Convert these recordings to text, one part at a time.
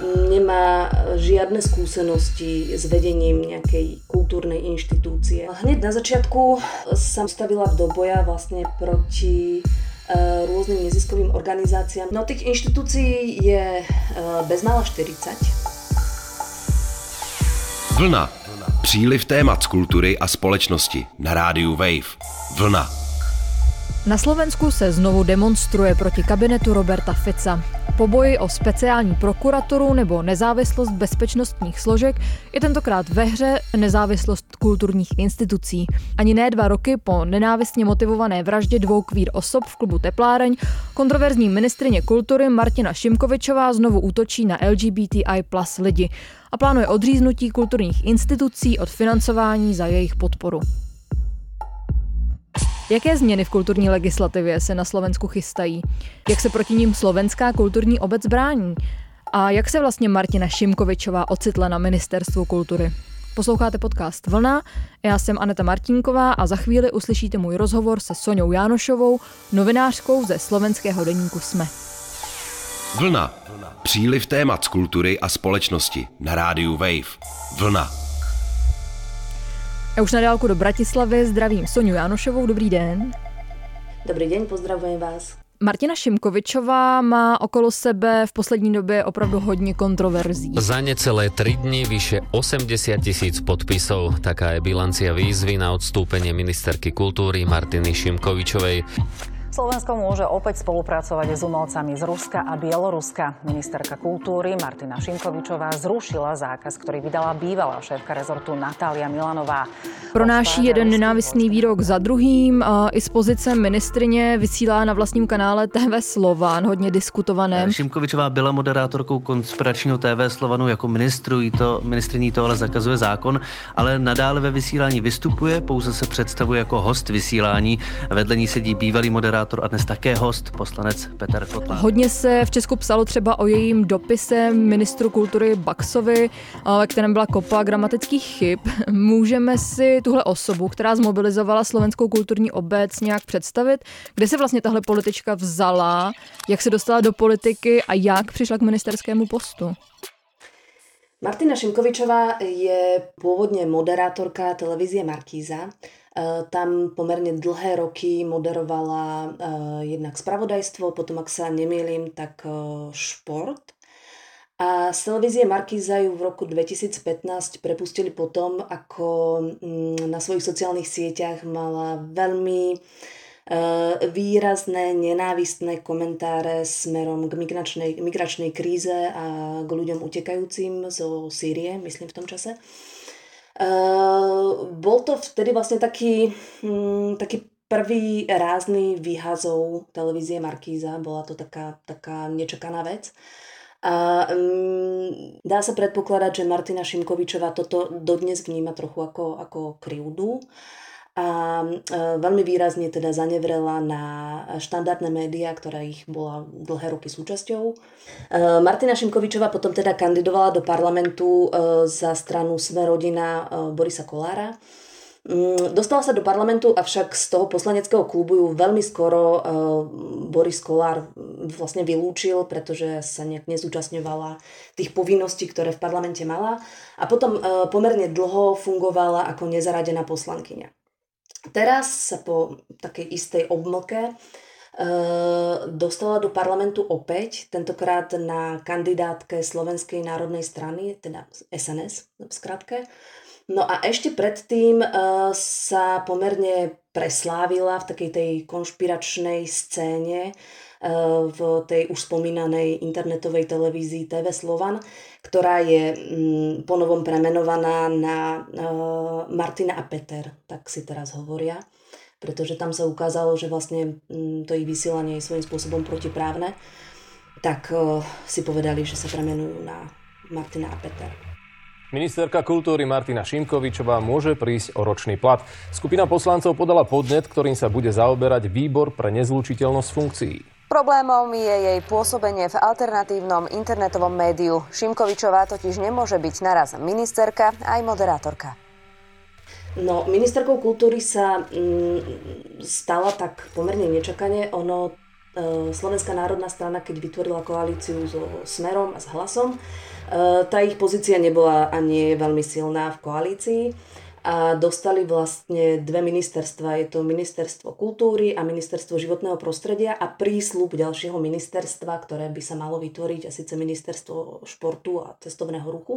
nemá žiadne skúsenosti s vedením nejakej kultúrnej inštitúcie. Hneď na začiatku som stavila do boja vlastne proti rôznym neziskovým organizáciám. No tých inštitúcií je bezmála 40. Vlna. Příliv témat z kultury a společnosti na rádiu Wave. Vlna. Na Slovensku se znovu demonstruje proti kabinetu Roberta Fica. Po boji o speciální prokuraturu nebo nezávislost bezpečnostních složek je tentokrát ve hře nezávislost kulturních institucí. Ani ne 2 roky po nenávistně motivované vraždě 2 queer osob v klubu Tepláreň kontroverzní ministryně kultury Martina Šimkovičová znovu útočí na LGBTI plus lidi a plánuje odříznutí kulturních institucí od financování za jejich podporu. Jaké změny v kulturní legislativě se na Slovensku chystají? Jak se proti ním slovenská kulturní obec brání? A jak se vlastně Martina Šimkovičová ocitla na Ministerstvu kultury? Posloucháte podcast Vlna, já jsem Aneta Martínková a za chvíli uslyšíte můj rozhovor se Soňou Jánošovou, novinářkou ze slovenského deníku SME. Vlna. Příliv témat z kultury a společnosti na rádiu Wave. Vlna. Já už na dálku do Bratislavy zdravím Soňu Jánošovou, dobrý den. Dobrý deň, pozdravujem vás. Martina Šimkovičová má okolo sebe v poslední době opravdu hodně kontroverzí. Za necelé 3 dni vyše 80 000 podpisov. Taká je bilancia výzvy na odstúpenie ministerky kultúry Martiny Šimkovičovej. Slovensko môže opäť spolupracovať s umelcami z Ruska a Bieloruska. Ministerka kultúry Martina Šimkovičová zrušila zákaz, ktorý vydala bývalá šéfka rezortu Natália Milanová. Pronáší jeden nenávistný výrok za druhým. I z pozice ministryně vysílá na vlastním kanále TV Slovan, hodně diskutovaném. Šimkovičová byla moderátorkou konspiračního TV Slovanu jako ministryní to ale zakazuje zákon, ale nadále ve vysílání vystupuje, pouze se představuje jako host vysílání. Vedle ní sedí bývalý moderátor a dnes také host, poslanec Petr Kotlár. Hodně se v Česku psalo třeba o jejím dopise ministru kultury Baxovi, ve kterém byla kopa gramatických chyb. Můžeme si tuhle osobu, která zmobilizovala slovenskou kulturní obec, nějak představit? Kde se vlastně tahle politička vzala, jak se dostala do politiky a jak přišla k ministerskému postu? Martina Šimkovičová je pôvodne moderátorka televízie Markíza. Tam pomerne dlhé roky moderovala jednak spravodajstvo, potom, ak sa nemýlim, tak šport. A z televízie Markíza ju v roku 2015 prepustili potom, ako na svojich sociálnych sieťach mala veľmi výrazné, nenávistné komentáre smerom k migračnej kríze a k ľuďom utekajúcim zo Sýrie, myslím v tom čase. Bol to vtedy vlastne taký prvý rázny výhazov televízie Markíza, bola to taká nečakaná vec. A dá sa predpokladať, že Martina Šimkovičová toto dodnes vníma trochu ako krivdu. A veľmi výrazne teda zanevrela na štandardné médiá, ktorá ich bola dlhé roky súčasťou. Martina Šimkovičová potom teda kandidovala do parlamentu za stranu Sme rodina Borisa Kollára. Dostala sa do parlamentu, avšak z toho poslaneckého klubu ju veľmi skoro Boris Kollár vlastne vylúčil, pretože sa nejak nezúčastňovala tých povinností, ktoré v parlamente mala. A potom pomerne dlho fungovala ako nezaradená poslankyňa. Teraz sa po takej istej obmlke dostala do parlamentu opäť, tentokrát na kandidátke Slovenskej národnej strany, teda SNS v skratke. No a ešte predtým sa pomerne preslávila v takej tej konšpiračnej scéne v tej už spomínanej internetovej televízii TV Slovan, ktorá je ponovom premenovaná na Martina a Peter, tak si teraz hovoria, pretože tam sa ukázalo, že vlastne to ich vysielanie je svojím spôsobom protiprávne, tak si povedali, že sa premenujú na Martina a Peter. Ministerka kultúry Martina Šimkovičová môže prísť o ročný plat. Skupina poslancov podala podnet, ktorým sa bude zaoberať výbor pre nezlučiteľnosť funkcií. Problémom je jej pôsobenie v alternatívnom internetovom médiu. Šimkovičová totiž nemôže byť naraz ministerka aj moderátorka. No, ministerkou kultúry sa stala tak pomerne nečakane. Ono Slovenská národná strana, keď vytvorila koalíciu so Smerom a s Hlasom, tá ich pozícia nebola a nie je veľmi silná v koalícii a dostali vlastne dve ministerstva. Je to Ministerstvo kultúry a Ministerstvo životného prostredia a prísľub ďalšieho ministerstva, ktoré by sa malo vytvoriť, a síce Ministerstvo športu a cestovného ruchu.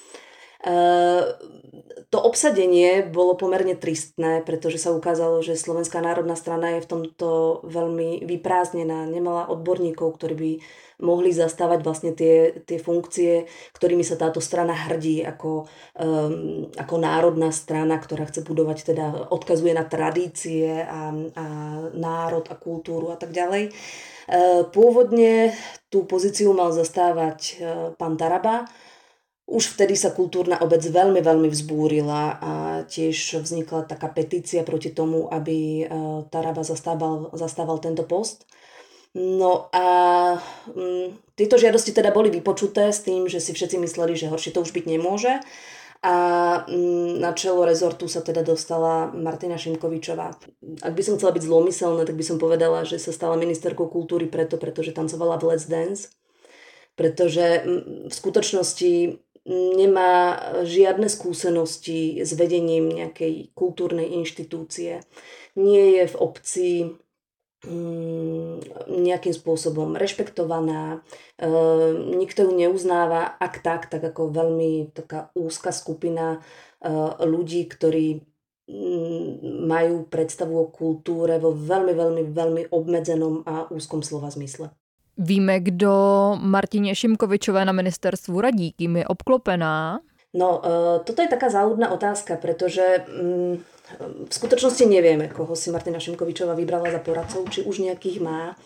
To obsadenie bolo pomerne tristné, pretože sa ukázalo, že Slovenská národná strana je v tomto veľmi vyprázdnená. Nemala odborníkov, ktorí by mohli zastávať vlastne tie funkcie, ktorými sa táto strana hrdí ako národná strana, ktorá chce budovať, teda odkazuje na tradície a národ a kultúru a tak ďalej. Pôvodne tú pozíciu mal zastávať pán Taraba. Už vtedy sa kultúrna obec veľmi, veľmi vzbúrila a tiež vznikla taká petícia proti tomu, aby Taraba zastával tento post. No a tieto žiadosti teda boli vypočuté s tým, že si všetci mysleli, že horšie to už byť nemôže. A na čelo rezortu sa teda dostala Martina Šimkovičová. Ak by som chcela byť zlomyselná, tak by som povedala, že sa stala ministerkou kultúry pretože tancovala v Let's Dance. Pretože v skutočnosti nemá žiadne skúsenosti s vedením nejakej kultúrnej inštitúcie. Nie je v obci nejakým spôsobom rešpektovaná, nikto ju neuznáva, ak tak ako veľmi taká úzka skupina ľudí, ktorí majú predstavu o kultúre vo veľmi, veľmi, veľmi obmedzenom a úzkom slova zmysle. Víme, kdo Martině Šimkovičové na ministerstvu radí, kým je obklopená? No, toto je taká záľudná otázka, pretože v skutočnosti nevieme, koho si Martina Šimkovičová vybrala za poradcov, či už nejakých má.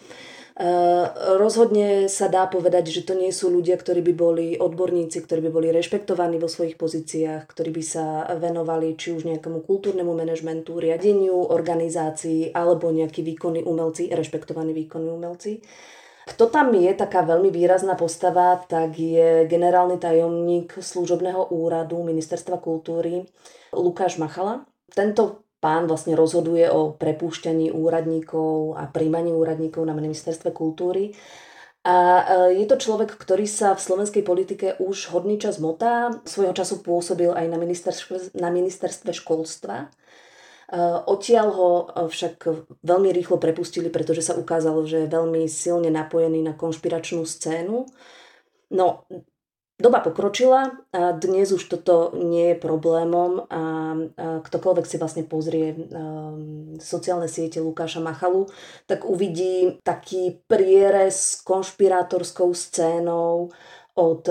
Rozhodne sa dá povedať, že to nie sú ľudia, ktorí by boli odborníci, ktorí by boli rešpektovaní vo svojich pozíciách, ktorí by sa venovali či už nejakému kultúrnemu manažmentu, riadeniu organizácií alebo nejakí výkonní umelci, rešpektovaní výkonní umelci. Kto tam je taká veľmi výrazná postava, tak je generálny tajomník služobného úradu Ministerstva kultúry Lukáš Machala. Tento pán vlastne rozhoduje o prepúšťaní úradníkov a prijímaní úradníkov na Ministerstve kultúry. A je to človek, ktorý sa v slovenskej politike už hodný čas motá. Svojho času pôsobil aj na ministerstve školstva. Odtiaľ ho však veľmi rýchlo prepustili, pretože sa ukázalo, že je veľmi silne napojený na konšpiračnú scénu. No, doba pokročila a dnes už toto nie je problémom a ktokoľvek si vlastne pozrie sociálne siete Lukáša Machalu, tak uvidí taký prierez s konšpirátorskou scénou od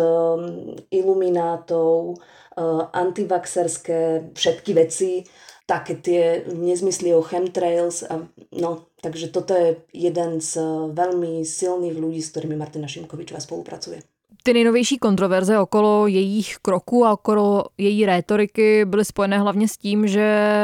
iluminátov, antivaxerské všetky veci, také tie nezmysly o chemtrails. Takže toto je jeden z veľmi silných ľudí, s ktorými Martina Šimkovičová spolupracuje. Ty nejnovější kontroverze okolo jejich kroků a okolo její rétoriky byly spojené hlavně s tím, že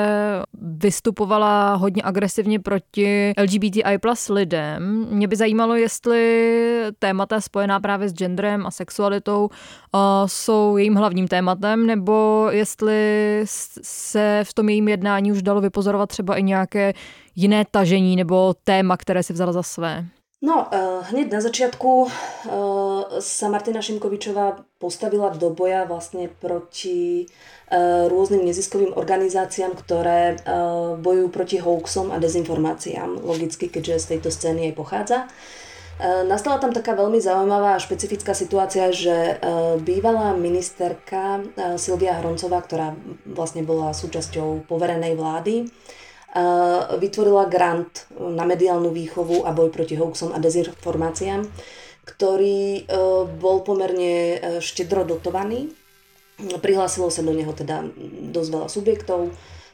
vystupovala hodně agresivně proti LGBTI plus lidem. Mě by zajímalo, jestli témata spojená právě s genderem a sexualitou jsou jejím hlavním tématem, nebo jestli se v tom jejím jednání už dalo vypozorovat třeba i nějaké jiné tažení nebo téma, které si vzala za své. No, hneď na začiatku sa Martina Šimkovičová postavila do boja vlastne proti rôznym neziskovým organizáciám, ktoré bojujú proti hoaxom a dezinformáciám, logicky, keďže z tejto scény aj pochádza. Nastala tam taká veľmi zaujímavá a špecifická situácia, že bývalá ministerka Silvia Hroncová, ktorá vlastne bola súčasťou poverenej vlády, vytvorila grant na mediálnu výchovu a boj proti hoaxom a dezinformáciám, ktorý bol pomerne štedro dotovaný. Prihlásilo sa do neho teda dosť veľa subjektov.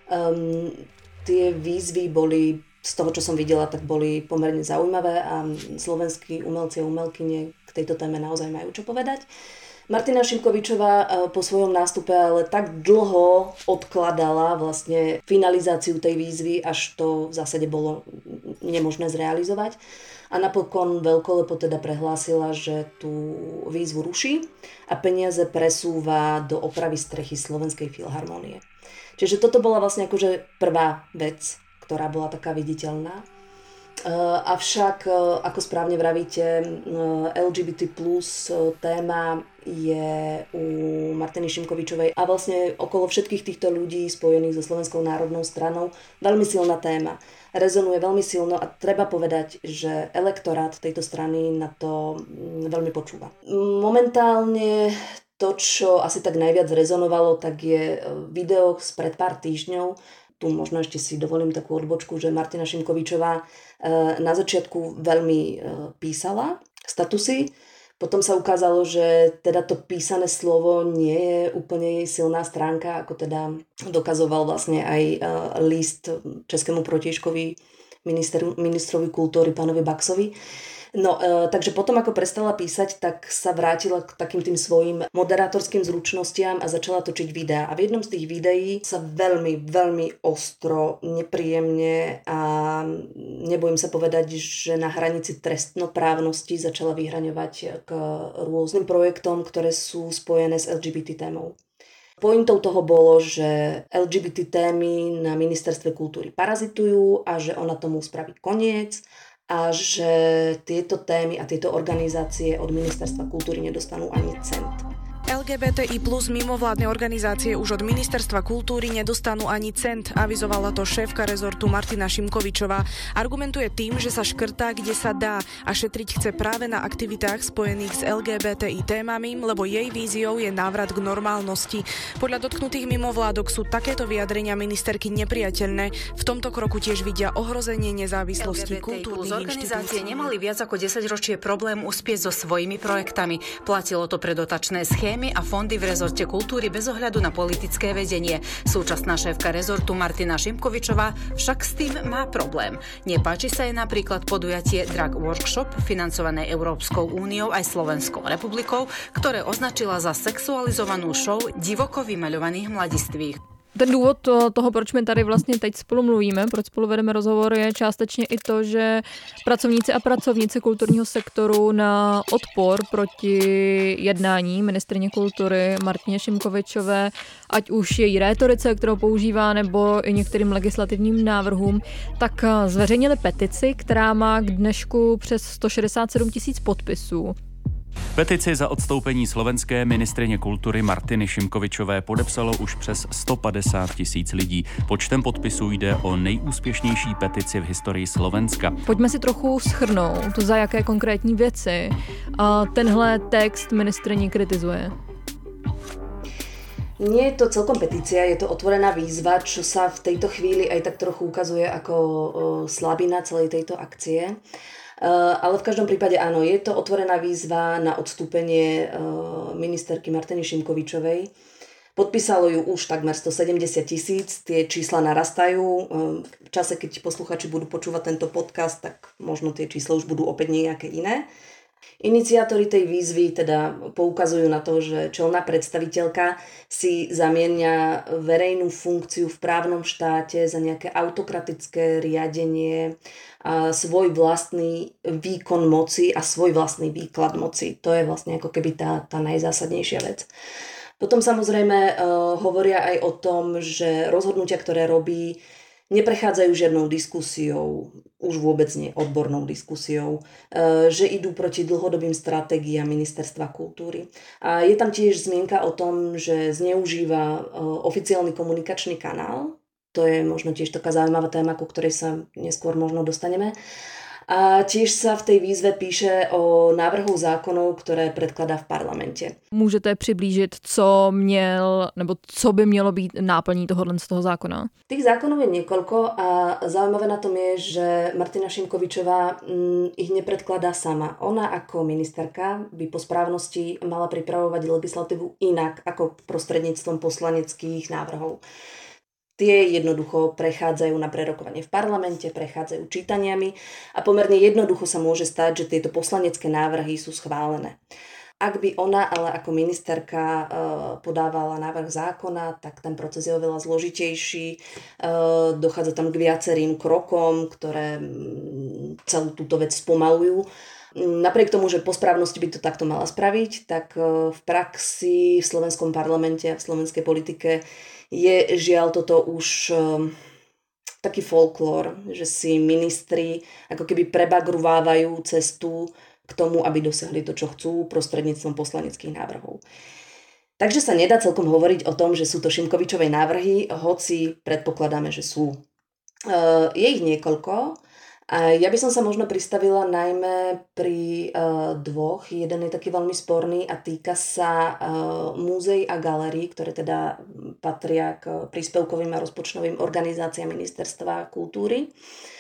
Tie výzvy boli, z toho čo som videla, tak boli pomerne zaujímavé a slovenskí umelci a umelkyne k tejto téme naozaj majú čo povedať. Martina Šimkovičová po svojom nástupe ale tak dlho odkladala vlastne finalizáciu tej výzvy, až to v zásade bolo nemožné zrealizovať. A napokon veľkolepo teda prehlásila, že tú výzvu ruší a peniaze presúva do opravy strechy Slovenskej filharmonie. Čiže toto bola vlastne akože prvá vec, ktorá bola taká viditeľná. Avšak, ako správne vravíte, LGBT plus téma je u Martiny Šimkovičovej a vlastne okolo všetkých týchto ľudí spojených so Slovenskou národnou stranou veľmi silná téma. Rezonuje veľmi silno a treba povedať, že elektorát tejto strany na to veľmi počúva. Momentálne to, čo asi tak najviac rezonovalo, tak je video spred pár týždňov. Tu možno ešte si dovolím takú odbočku, že Martina Šimkovičová na začiatku veľmi písala statusy. Potom sa ukázalo, že teda to písané slovo nie je úplne jej silná stránka, ako teda dokazoval vlastne aj list českému protižkovi ministrovi kultúry pánovi Baxovi. No, takže potom, ako prestala písať, tak sa vrátila k takým tým svojim moderátorským zručnostiam a začala točiť videá. A v jednom z tých videí sa veľmi, veľmi ostro, nepríjemne a nebojím sa povedať, že na hranici trestnoprávnosti začala vyhraňovať k rôznym projektom, ktoré sú spojené s LGBT témou. Pointou toho bolo, že LGBT témy na ministerstve kultúry parazitujú a že ona tomu spraví koniec a že tieto témy a tieto organizácie od ministerstva kultúry nedostanú ani cent. LGBTI plus mimovládne organizácie už od ministerstva kultúry nedostanú ani cent, avizovala to šéfka rezortu Martina Šimkovičová. Argumentuje tým, že sa škrtá, kde sa dá a šetriť chce práve na aktivitách spojených s LGBTI témami, lebo jej víziou je návrat k normálnosti. Podľa dotknutých mimovládok sú takéto vyjadrenia ministerky nepriateľné. V tomto kroku tiež vidia ohrozenie nezávislosti kultúrnych organizácie nemali viac ako 10 ročie problém uspieť so svojimi projektami. Platilo to pre dotačné schémy a fondy v rezorte kultúry bez ohľadu na politické vedenie. Súčasná šéfka rezortu Martina Šimkovičová však s tým má problém. Nepáči sa jej napríklad podujatie Drag Workshop, financované Európskou úniou aj Slovenskou republikou, ktoré označila za sexualizovanú show divoko vymaľovaných mladistvých. Ten důvod toho, proč my tady vlastně teď spolu mluvíme, proč spolu vedeme rozhovor, je částečně i to, že pracovníci a pracovnice kulturního sektoru na odpor proti jednání ministryně kultury Martině Šimkovičové, ať už její rétorice, kterou používá, nebo i některým legislativním návrhům, tak zveřejnili petici, která má k dnešku přes 167 000 podpisů. Petici za odstoupení slovenské ministryně kultury Martiny Šimkovičové podepsalo už přes 150 000 lidí. Počtem podpisů jde o nejúspěšnější petici v historii Slovenska. Pojďme si trochu shrnout, za jaké konkrétní věci tenhle text ministryni kritizuje. Nie je to celkom petícia, je to otvorená výzva, čo sa v tejto chvíli aj tak trochu ukazuje ako slabina celej tejto akcie. Ale v každom prípade áno, je to otvorená výzva na odstúpenie ministerky Martiny Šimkovičovej. Podpísalo ju už takmer 170 000, tie čísla narastajú. V čase, keď posluchači budú počúvať tento podcast, tak možno tie čísla už budú opäť nejaké iné. Iniciátori tej výzvy teda poukazujú na to, že čelná predstaviteľka si zamienia verejnú funkciu v právnom štáte za nejaké autokratické riadenie, a svoj vlastný výkon moci a svoj vlastný výklad moci. To je vlastne ako keby tá najzásadnejšia vec. Potom samozrejme hovoria aj o tom, že rozhodnutia, ktoré robí, neprechádzajú žiadnou diskusiou, už vôbec nie odbornou diskusiou, že idú proti dlhodobým stratégiám ministerstva kultúry. A je tam tiež zmienka o tom, že zneužíva oficiálny komunikačný kanál. To je možno tiež taká zaujímavá téma, ku ktorej sa neskôr možno dostaneme. A tiež sa v tej výzve píše o návrhu zákonov, ktoré predkladá v parlamente. Můžete přiblížit, co by mělo být náplní tohohle z toho zákona? Tých zákonov je niekoľko a zaujímavé na tom je, že Martina Šimkovičová ich nepredkladá sama. Ona ako ministerka by po správnosti mala pripravovať legislatívu inak ako prostredníctvom poslaneckých návrhov. Tie jednoducho prechádzajú na prerokovanie v parlamente, prechádzajú čítaniami a pomerne jednoducho sa môže stať, že tieto poslanecké návrhy sú schválené. Ak by ona ale ako ministerka podávala návrh zákona, tak ten proces je oveľa zložitejší. Dochádza tam k viacerým krokom, ktoré celú túto vec spomalujú. Napriek tomu, že po správnosti by to takto mala spraviť, tak v praxi v slovenskom parlamente a v slovenskej politike je žiaľ toto už taký folklór, že si ministri ako keby prebagruvávajú cestu k tomu, aby dosiahli to, čo chcú prostredníctvom poslaneckých návrhov. Takže sa nedá celkom hovoriť o tom, že sú to Šimkovičové návrhy, hoci predpokladáme, že sú. Je ich niekoľko. A ja by som sa možno pristavila najmä pri dvoch. Jeden je taký veľmi sporný a týka sa múzeí a galérií, ktoré teda patria k príspevkovým a rozpočtovým organizáciám Ministerstva kultúry.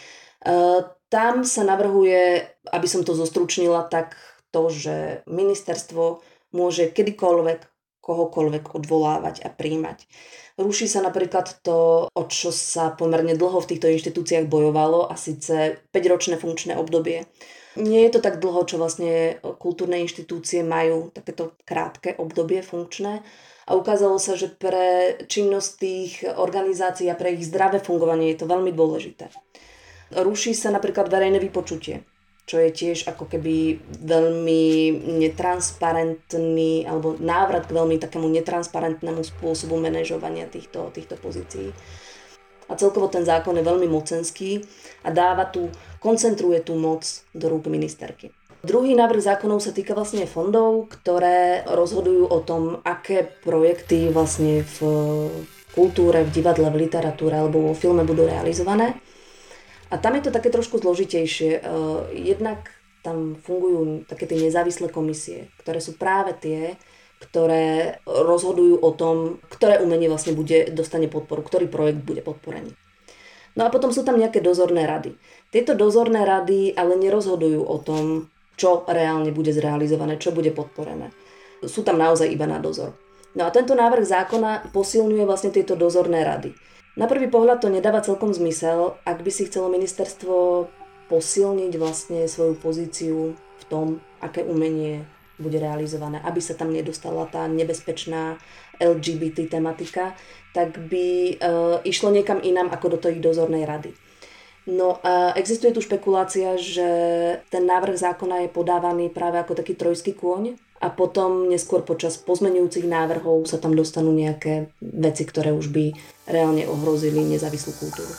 Tam sa navrhuje, aby som to zostručnila, tak to, že ministerstvo môže kedykoľvek kohokoľvek odvolávať a prijímať. Ruší sa napríklad to, o čo sa pomerne dlho v týchto inštitúciách bojovalo, a síce 5-ročné funkčné obdobie. Nie je to tak dlho, čo vlastne kultúrne inštitúcie majú takéto krátke obdobie funkčné, a ukázalo sa, že pre činnosť tých organizácií a pre ich zdravé fungovanie je to veľmi dôležité. Ruší sa napríklad verejné vypočutie, čo je tiež ako keby veľmi netransparentný, alebo návrat k veľmi takému netransparentnému spôsobu manažovania týchto pozícií. A celkovo ten zákon je veľmi mocenský a koncentruje tú moc do rúk ministerky. Druhý návrh zákonov sa týka vlastne fondov, ktoré rozhodujú o tom, aké projekty vlastne v kultúre, v divadle, v literatúre alebo vo filme budú realizované. A tam je to také trošku zložitejšie. Jednak tam fungujú také tie nezávislé komisie, ktoré sú práve tie, ktoré rozhodujú o tom, ktoré umenie vlastne dostane podporu, ktorý projekt bude podporený. No a potom sú tam nejaké dozorné rady. Tieto dozorné rady ale nerozhodujú o tom, čo reálne bude zrealizované, čo bude podporené. Sú tam naozaj iba na dozor. No a tento návrh zákona posilňuje vlastne tieto dozorné rady. Na prvý pohľad to nedáva celkom zmysel, ak by si chcelo ministerstvo posilniť vlastne svoju pozíciu v tom, aké umenie bude realizované, aby sa tam nedostala tá nebezpečná LGBT tematika, tak by išlo niekam inám ako do tej dozornej rady. No a existuje tu špekulácia, že ten návrh zákona je podávaný práve ako taký trojský kôň a potom neskôr počas pozmeňujúcich návrhov sa tam dostanú nejaké veci, ktoré už by reálne ohrozili nezávislú kultúru.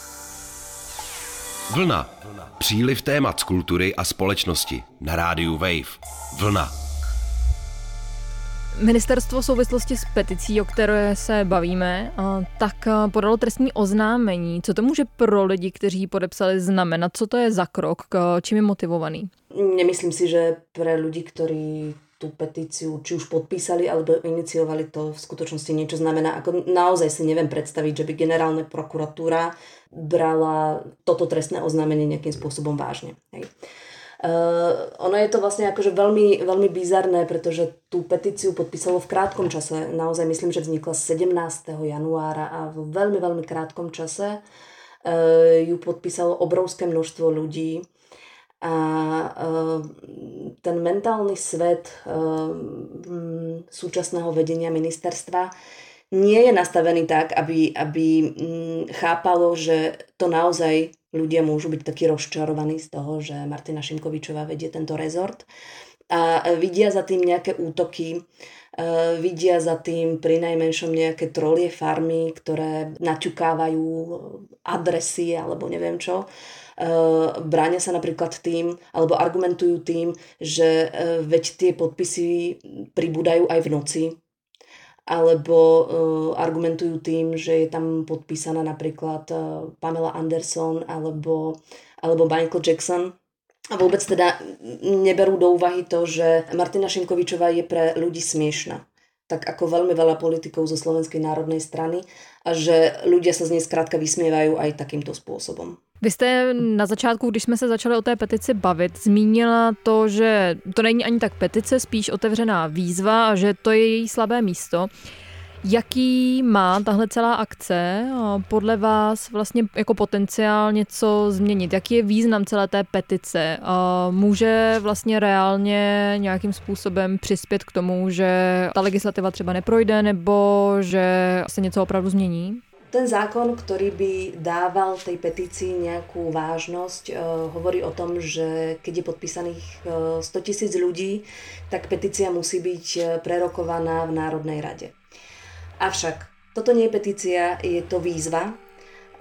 Vlna. Příliv témat z kultury a společnosti na rádiu Wave. Vlna. Ministerstvo v souvislosti s peticí, o které se bavíme, tak podalo trestní oznámení. Co to může pro lidi, kteří podepsali, znamenat? Co to je za krok? Čím je motivovaný? Nemyslím si, že pre ľudí, ktorí tú petíciu či už podpísali alebo iniciovali, to v skutočnosti niečo znamená. Ako naozaj si neviem predstaviť, že by generálna prokuratúra brala toto trestné oznámenie nejakým spôsobom vážne. Hej. Ono je to vlastne akože veľmi, veľmi bizarné, pretože tú petíciu podpísalo v krátkom čase. Naozaj myslím, že vznikla 17. januára a v veľmi, veľmi krátkom čase ju podpísalo obrovské množstvo ľudí. A ten mentálny svet súčasného vedenia ministerstva nie je nastavený tak, aby chápalo, že to naozaj ľudia môžu byť takí rozčarovaní z toho, že Martina Šimkovičová vedie tento rezort a vidia za tým nejaké útoky, vidia za tým prinajmenšom nejaké trolie farmy, ktoré naťukávajú adresy alebo neviem čo. Bránia sa napríklad tým, alebo argumentujú tým, že veď tie podpisy pribúdajú aj v noci, alebo argumentujú tým, že je tam podpísaná napríklad Pamela Anderson alebo Michael Jackson. A vôbec teda neberú do úvahy to, že Martina Šimkovičová je pre ľudí smiešna. Tak ako veľmi veľa politikov zo Slovenskej národnej strany a že ľudia sa z nej skrátka vysmievajú aj takýmto spôsobom. Vy jste na začátku, když jsme se začali o té petici bavit, zmínila to, že to není ani tak petice, spíš otevřená výzva a že to je její slabé místo. Jaký má tahle celá akce podle vás vlastně jako potenciál něco změnit? Jaký je význam celé té petice? Může vlastně reálně nějakým způsobem přispět k tomu, že ta legislativa třeba neprojde nebo že se něco opravdu změní? Ten zákon, ktorý by dával tej petícii nejakú vážnosť, hovorí o tom, že keď je podpísaných 100 000 ľudí, tak petícia musí byť prerokovaná v Národnej rade. Avšak toto nie je petícia, je to výzva.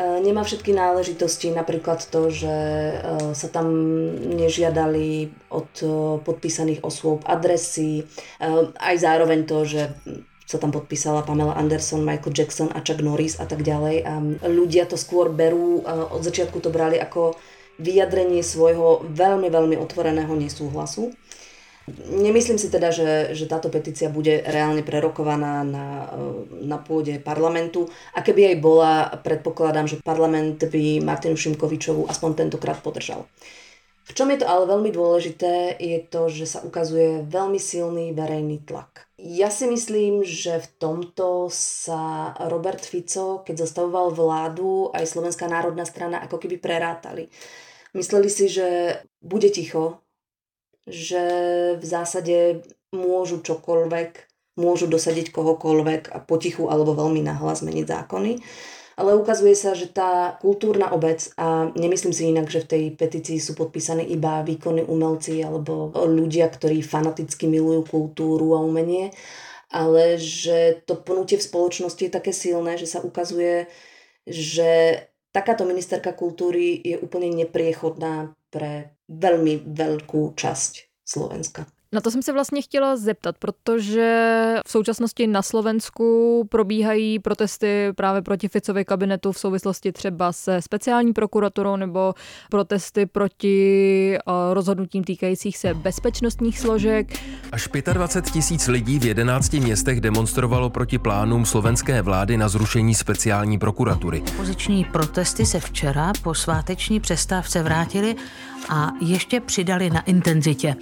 Nemá všetky náležitosti, napríklad to, že sa tam nežiadali od podpísaných osôb adresy, aj zároveň to, že sa tam podpísala Pamela Anderson, Michael Jackson a Chuck Norris a tak ďalej. A ľudia to skôr berú, od začiatku to brali ako vyjadrenie svojho veľmi, veľmi otvoreného nesúhlasu. Nemyslím si teda, že táto petícia bude reálne prerokovaná na pôde parlamentu. A keby aj bola, predpokladám, že parlament by Martinu Šimkovičovú aspoň tentokrát podržal. V čom je to ale veľmi dôležité, je to, že sa ukazuje veľmi silný verejný tlak. Ja si myslím, že v tomto sa Robert Fico, keď zostavoval vládu, aj Slovenská národná strana ako keby prerátali. Mysleli si, že bude ticho, že v zásade môžu čokoľvek, môžu dosadiť kohokoľvek a potichu alebo veľmi nahlas meniť zákony. Ale ukazuje sa, že tá kultúrna obec, a nemyslím si inak, že v tej petícii sú podpísaní iba výkonní umelci alebo ľudia, ktorí fanaticky milujú kultúru a umenie, ale že to pnutie v spoločnosti je také silné, že sa ukazuje, že takáto ministerka kultúry je úplne nepriechodná pre veľmi veľkú časť Slovenska. Na to jsem se vlastně chtěla zeptat, protože v současnosti na Slovensku probíhají protesty právě proti Ficově kabinetu v souvislosti třeba se speciální prokuraturou nebo protesty proti rozhodnutím týkajících se bezpečnostních složek. Až 25 000 lidí v 11 městech demonstrovalo proti plánům slovenské vlády na zrušení speciální prokuratury. Opoziční protesty se včera po sváteční přestávce vrátily a ještě přidali na intenzitě.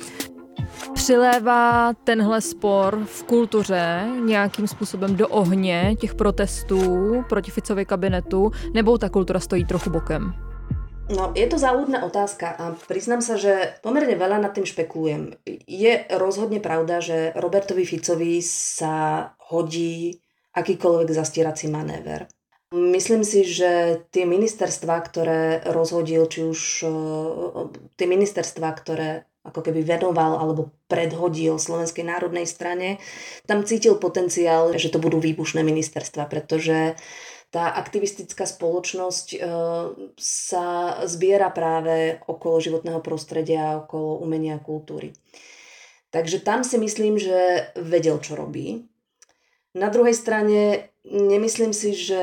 Přilévá tenhle spor v kultuře nějakým způsobem do ohně těch protestů proti Ficově kabinetu, nebo ta kultura stojí trochu bokem? No, je to záľudná otázka a priznám sa, že pomerne veľa nad tým špekulujem. Je rozhodne pravda, že Robertovi Ficovi sa hodí akýkoľvek zastierací manéver. Myslím si, že tie ministerstvá, ktoré rozhodil, či už tie ministerstvá, ktoré ako keby venoval alebo predhodil Slovenskej národnej strane, tam cítil potenciál, že to budú výbušné ministerstva, pretože tá aktivistická spoločnosť sa zbiera práve okolo životného prostredia, okolo umenia a kultúry. Takže tam si myslím, že vedel, čo robí. Na druhej strane nemyslím si, že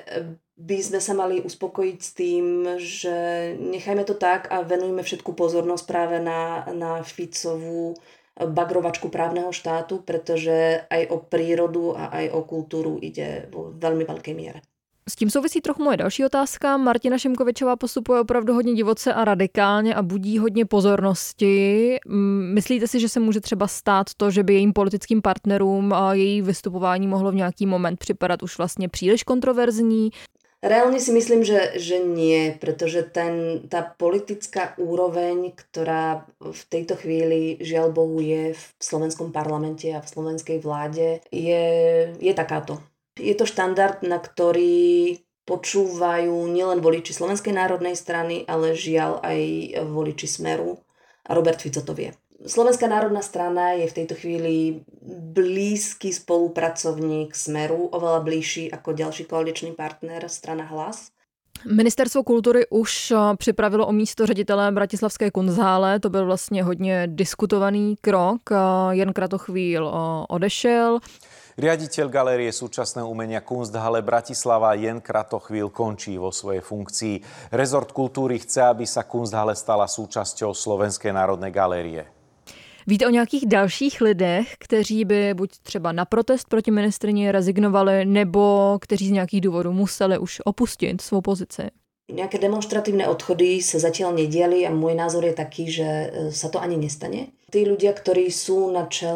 by sme sa mali uspokojiť s tým, že nechajme to tak a venujme všetku pozornosť práve na Ficovú bagrovačku právneho štátu, pretože aj o prírodu a aj o kultúru ide vo veľmi veľkej miere. S tím souvisí trochu moje další otázka. Martina Šimkovičová postupuje opravdu hodně divoce a radikálně a budí hodně pozornosti. Myslíte si, že se může třeba stát to, že by jejím politickým partnerům a její vystupování mohlo v nějaký moment připadat už vlastně příliš kontroverzní? Reálne si myslím, že nie, pretože tá politická úroveň, ktorá v tejto chvíli žiaľ Bohu je v slovenskom parlamente a v slovenskej vláde, je takáto. Je to štandard, na ktorý počúvajú nielen voliči Slovenskej národnej strany, ale žiaľ aj voliči Smeru. A Robert Fico to vie. Slovenská národná strana je v tejto chvíli blízky spolupracovník Smeru, oveľa bližší ako ďalší koaličný partner strana Hlas. Ministerstvo kultury už připravilo o místo ředitele bratislavské Kunsthále. To byl vlastně hodně diskutovaný krok. Jan Kratochvíl odešel. Riaditeľ Galérie súčasného umenia Kunsthalle Bratislava Jan Kratochvíl končí vo svojej funkcii. Rezort kultúry chce, aby sa Kunsthalle stala súčasťou Slovenskej národnej galérie. Víte o nějakých dalších lidech, kteří by buď třeba na protest proti ministryni rezignovali, nebo kteří z nějakých důvodů museli už opustit svou pozici? Nejaké demonstratívne odchody sa zatiaľ nediali a môj názor je taký, že sa to ani nestane. Tí ľudia, ktorí sú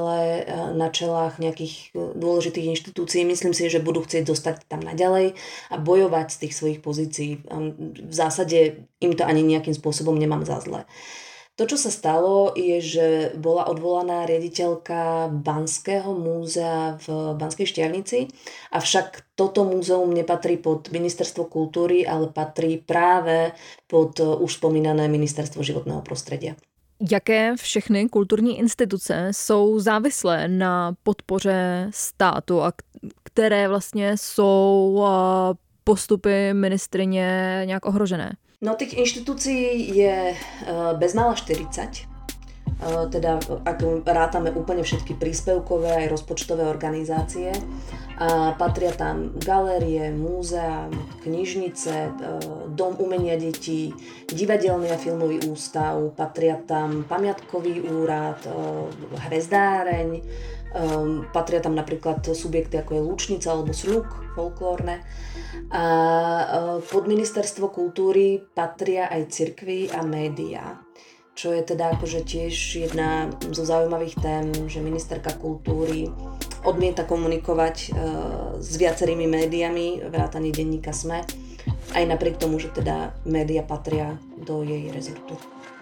na čelách nejakých dôležitých inštitúcií, myslím si, že budú chcieť dostať tam naďalej a bojovať z tých svojich pozícií. V zásade im to ani nejakým spôsobom nemám za zlé. To, čo sa stalo, je, že bola odvolaná riaditeľka Banského múzea v Banskej Štiavnici, avšak toto múzeum nepatrí pod Ministerstvo kultúry, ale patrí práve pod už spomínané Ministerstvo životného prostredia. Jaké všechny kulturní instituce jsou závislé na podpoře státu a které vlastně jsou postupy ministryně nějak ohrožené? No, tých inštitúcií je bezmála 40. Teda ak rátame úplne všetky príspevkové aj rozpočtové organizácie. A patria tam galérie, múzea, knižnice, Dom umenia detí, divadelný a filmový ústav, patria tam pamiatkový úrad, hvezdáreň, patria tam napríklad subjekty ako je Lučnica alebo Sľuk folklórne. A pod ministerstvo kultúry patria aj cirkvi a médiá. Čo je teda akože tiež jedna zo zaujímavých tém, že ministerka kultúry odmieta komunikovať s viacerými médiami, vrátane denníka SME, aj napriek tomu, že teda média patria do jej rezortu.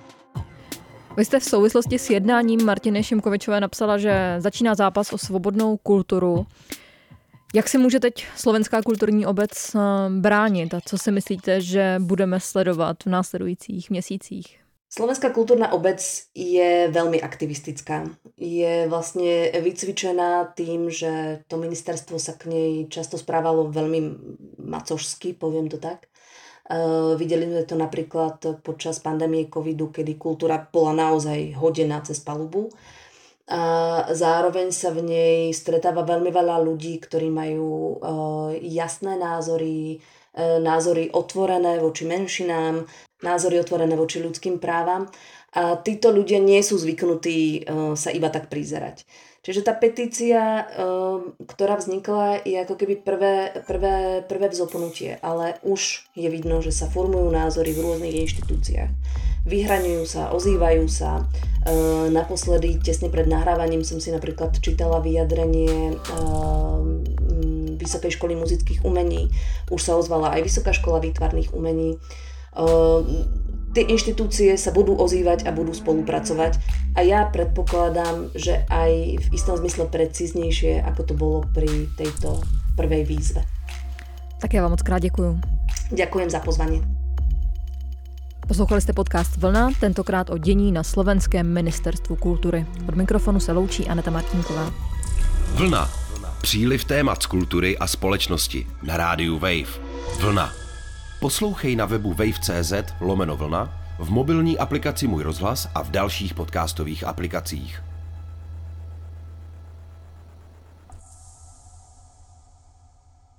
Vy jste v souvislosti s jednáním Martiny Šimkovičové napsala, že začíná zápas o svobodnou kulturu. Jak si může teď slovenská kulturní obec bránit a co si myslíte, že budeme sledovat v následujících měsících? Slovenská kultúrna obec je veľmi aktivistická. Je vlastne vycvičená tým, že to ministerstvo sa k nej často správalo veľmi macožsky, poviem to tak. Videli sme to napríklad počas pandémie covidu, kedy kultúra bola naozaj hodená cez palubu. A zároveň sa v nej stretáva veľmi veľa ľudí, ktorí majú jasné názory, názory otvorené voči menšinám, názory otvorené voči ľudským právam a títo ľudia nie sú zvyknutí sa iba tak prizerať. Čiže tá petícia, ktorá vznikla, je ako keby prvé vzopnutie, ale už je vidno, že sa formujú názory v rôznych inštitúciách. Vyhraňujú sa, ozývajú sa. Naposledy, tesne pred nahrávaním som si napríklad čítala vyjadrenie Vysokej školy muzických umení. Už sa ozvala aj Vysoká škola výtvarných umení. Tie inštitúcie sa budú ozývať a budú spolupracovať a ja predpokladám, že aj v istom zmysle precíznejšie, ako to bolo pri tejto prvej výzve. Tak já vám moc krát děkuju. Ďakujem za pozvanie. Poslouchali jste podcast Vlna, tentokrát o dění na slovenském ministerstvu kultury. Od mikrofonu se loučí Aneta Martinková. Vlna. Příliv témat z kultury a společnosti na rádiu Wave. Vlna. Poslouchej na webu wave.cz/vlna, v mobilní aplikaci Můj rozhlas a v dalších podcastových aplikacích.